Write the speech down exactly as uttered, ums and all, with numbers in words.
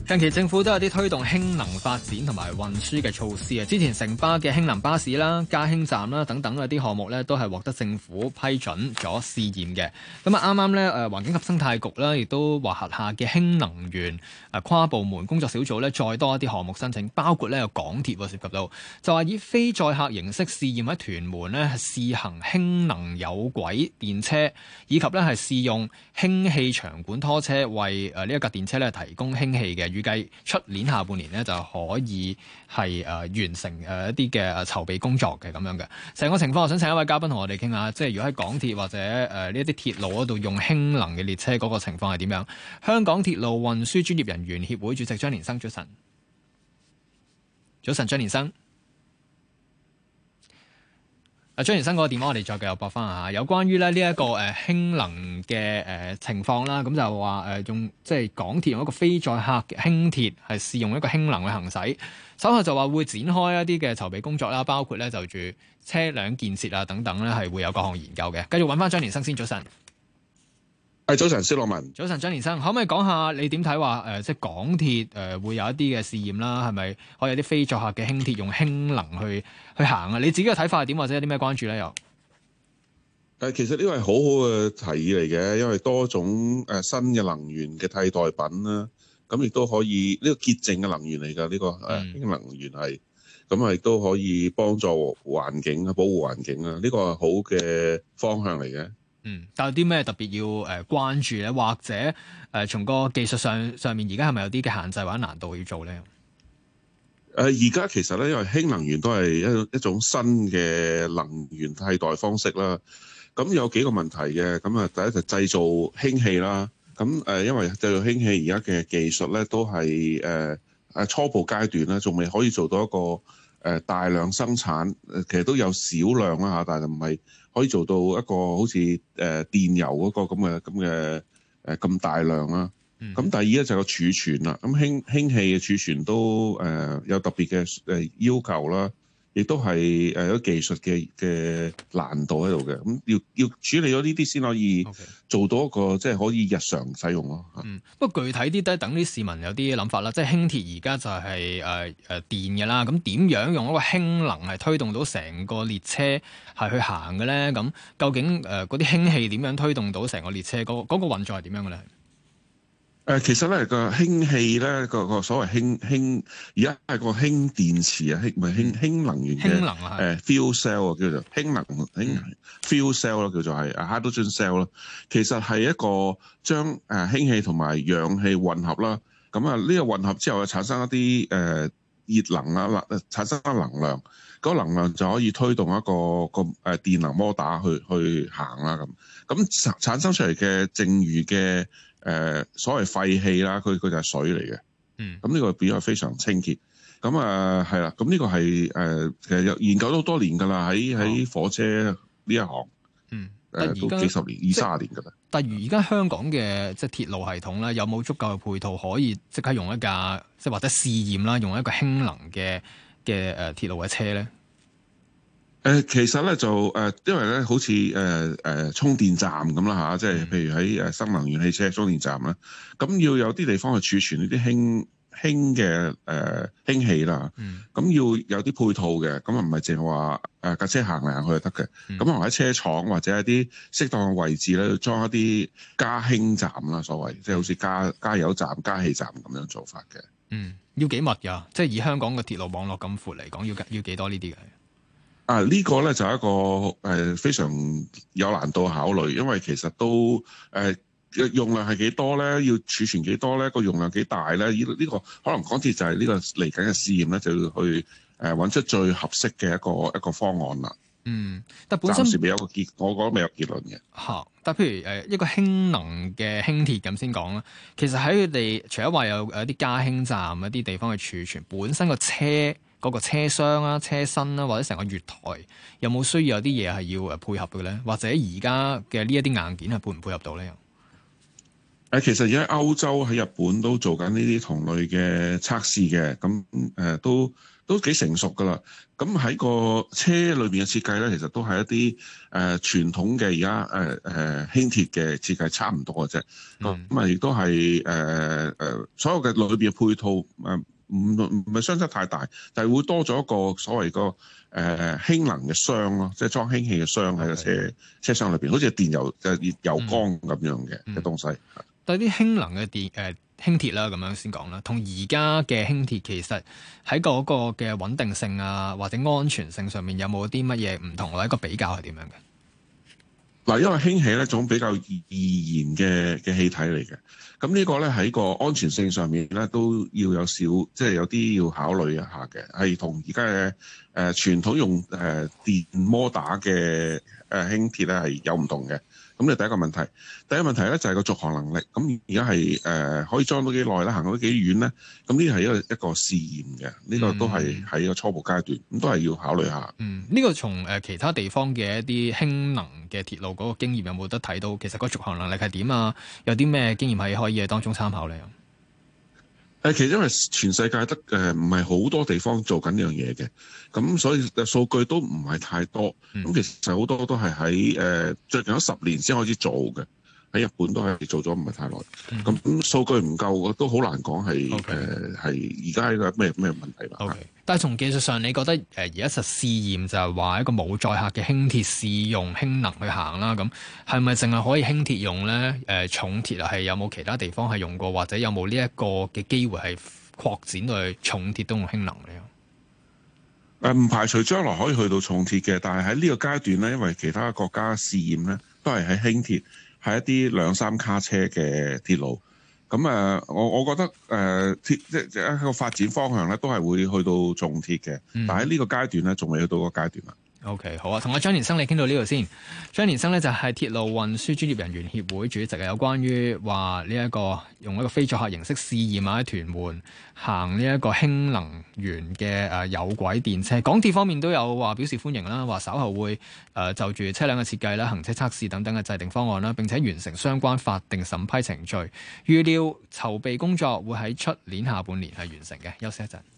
近期政府都有啲推動氫能發展同埋運輸嘅措施啊！之前城巴嘅氫能巴士啦、加氫站啦等等嘅啲項目咧，都係獲得政府批准咗試驗嘅。咁啊，啱啱咧誒環境及生態局啦，亦都話轄下嘅氫能源誒跨部門工作小組咧，再多一啲項目申請，包括咧有港鐵涉及到，就話以非載客形式試驗喺屯門咧試行氫能有軌電車，以及咧係試用氫氣長管拖車為誒呢一架電車咧提供氫氣嘅。預計出年下半年咧就可以係誒、呃、完成誒、呃、一啲嘅籌備工作嘅咁樣嘅成個情況。我想請一位嘉賓同我哋傾下，即係如果喺港鐵或者誒呢一啲鐵路嗰度用氫能嘅列車嗰個情況係點樣？香港鐵路運輸專業人員協會主席張年生，早晨。早晨，張年生。啊，張年生嗰個電話我哋再繼續駁翻下，有關於咧呢一個誒氫能嘅誒情況啦，咁就話誒用即係港鐵用一個非載客嘅輕鐵係試用一個氫能去行駛，稍後就話會展開一啲嘅籌備工作啦，包括咧就住車輛建設啊等等咧係會有各項研究嘅。繼續揾翻張年生先，早晨。 係早晨，蕭樂文。 早晨，張年生，可唔可以講下你點睇話誒，即係港鐵誒、呃、會有一啲嘅試驗啦？係咪可以有啲非載客嘅輕鐵用氫能去去行啊？你自己嘅睇法係點，或者有啲咩關注咧？又誒，其實呢個係好好嘅提議嚟嘅，因為多種誒新嘅能源嘅替代品啦，咁亦都可以呢、呢個潔淨嘅能源嚟㗎，呢、呢個誒氫能源係，咁啊亦都可以幫助環境啊，保護環境啊，呢、呢個係好嘅方向嚟嘅。 嗯，但有啲咩特別要誒關注咧？或者誒、呃、從個技術上上面，而家係咪有啲嘅限制或者難度要做咧？ 誒而家其實咧，因為氫能源都係一一種新嘅能源替代方式啦。咁有幾個問題嘅。咁啊，第一就製造氫氣啦。咁誒，因為製造氫氣而家嘅技術咧，都係誒誒初步階段啦，仲未可以做到一個誒大量生產。誒其實都有少量啦嚇，但係唔係可以做到一個好似誒電油嗰個咁嘅咁嘅誒咁大量啦。咁、嗯、第二咧就係個儲存啦。咁氫氫氣嘅儲存都誒、呃、有特別嘅誒要求啦，亦都係誒有技術嘅嘅難度喺度嘅。咁要要處理咗呢啲先可以做到一個 Okay. 即係可以日常使用咯。 嗯，不過具體啲都係等啲市民有啲諗法啦。即係輕鐵而家就係誒誒電嘅啦。咁點樣用一個氫能係推動到成個列車係去行嘅咧？咁究竟誒嗰啲氫氣點樣推動到成個列車嗰、嗰個嗰、嗰個運作係點樣嘅咧？ 誒其實咧個氫氣咧個個所謂氫氫而家係個氫電池啊，氫唔係氫氫能源嘅誒 fuel cell 啊，叫做氫能氫 fuel cell 咯，叫做係 hydrogen cell 咯。其實係一個將誒氫氣同埋氧氣混合啦。咁啊呢個混合之後啊，產生一啲誒熱能啊，產生一能量，嗰個能量就可以推動一個個誒電能摩打去去行啦咁。咁產生出嚟嘅剩餘嘅誒、呃、所謂廢氣啦，佢佢就係水嚟嘅。嗯，咁呢個變咗非常清潔。咁啊係啦，咁呢個係誒、呃、其實有研究咗好多年㗎啦，喺喺火車呢一行。嗯，誒、呃、都幾十年、二三十年㗎啦。 但係而家香港嘅即係鐵路系統咧，有冇足夠嘅配套可以即刻用一架即係或者試驗啦，用一個氫能嘅嘅誒鐵路嘅車咧？ 誒其實咧就誒，因為咧好似誒誒充電站咁啦嚇，即係譬如喺誒新能源汽車充電站啦，咁要有啲地方去儲存呢啲氫氫嘅誒氫氣啦，咁要有啲配套嘅，咁啊唔係淨係話誒架車行嚟行去就得嘅，咁可能喺車廠或者一啲適當嘅位置咧，裝一啲加氫站啦，所謂即係好似加加油站、加氣站咁樣做法嘅。 嗯，要幾密㗎？即係以香港嘅鐵路網絡咁闊嚟講，要要幾多呢啲嘅？ 啊！呢、這個咧就係一個誒、呃、非常有難度考慮，因為其實都誒、呃、用量係幾多咧？要儲存幾多咧？個用量幾大咧？呢、這、呢個可能港鐵就係呢個嚟緊嘅試驗咧，就要去誒揾、呃、出最合適嘅一個一個方案啦。嗯，但本身暫時未有個結，我覺得未有結論嘅。 嚇！但譬如誒一個氫能嘅輕鐵咁先講啦，其實喺佢哋除咗話有誒一啲加氫站、一啲地方去儲存，本身個車。嗰個車廂啊、車身啦、啊，或者成個月台，有冇需要有啲嘢係要誒配合嘅咧？或者而家嘅呢一啲硬件係配唔配合到咧？ 誒，其實而家歐洲喺日本都做緊呢啲同類嘅測試嘅，咁誒、呃、都都幾成熟㗎啦。咁喺個車裏邊嘅設計咧，其實都係一啲誒、呃、傳統嘅而家誒誒輕鐵嘅設計差唔多嘅啫。咁咁啊，亦都係誒誒所有嘅裏邊嘅配套誒唔唔係相差太大，但係會多咗一個所謂個誒、呃、氫能嘅箱咯，即係裝氫氣嘅箱喺個車 Okay. 車廂裏邊，好似電油誒油缸咁樣嘅嘅、嗯、東西。 對啲氫能嘅電誒、呃、輕鐵啦，咁樣先講啦，同而家嘅輕鐵其實喺嗰個嘅穩定性啊，或者安全性上面有冇啲乜嘢唔同，或者一個比較係點樣嘅？ 嗱，因為氫氣咧種比較易燃嘅嘅氣體嚟嘅，咁呢個咧喺個安全性上面咧都要有少，即係有啲要考慮一下嘅，係同而家嘅誒傳統用誒、呃、電摩打嘅誒輕鐵咧係有唔同嘅。咁呢第一個問題，第一個問題咧就係個續航能力。咁而家係誒可以裝到幾耐咧，行到幾遠咧？咁呢係一個一個試驗嘅，呢、呢個都係喺一個初步階段，咁都係要考慮下。嗯， 呢、呢個從誒其他地方嘅一啲氫能嘅鐵路嗰個經驗有冇得睇到？其實個續航能力係點啊？有啲咩經驗係可以喺當中參考咧？ 誒，其實因為全世界得誒唔係好多地方做緊呢樣嘢嘅，咁所以數據都唔係太多。咁、嗯、其實好多都係喺誒最近嗰十年先開始做嘅，喺日本都係做咗唔係太耐。咁、嗯、數據唔夠，都好難講係誒係而家呢個咩咩問題啦。 Okay. 但係從技術上，你覺得誒而家實試驗就係話一個冇載客嘅輕鐵試用氫能去行啦，咁係咪淨係可以輕鐵用咧？誒、呃、重鐵係有冇其他地方係用過，或者有冇呢一個嘅機會係擴展到去重鐵都用氫能咧？ 誒唔排除將來可以去到重鐵嘅，但係喺呢個階段咧，因為其他國家試驗咧都係喺輕鐵，係一啲兩三卡車嘅鐵路。咁誒，我我覺得誒、呃、鐵即即一個發展方向咧，都係會去到重鐵嘅，嗯、但係喺呢個階段咧，仲未去到個階段啦。 O.K. 好啊，同阿張年生你傾到呢度先。張年生咧就係鐵路運輸專業人員協會主席，有關於話呢一個用一個非載客形式試驗啊，喺屯門行呢一個氫能源嘅誒有軌電車。港鐵方面都有話表示歡迎啦，話稍後會誒、呃、就住車輛嘅設計啦、行車測試等等嘅制定方案啦，並且完成相關法定審批程序。預料籌備工作會喺出年下半年係完成嘅。休息一陣。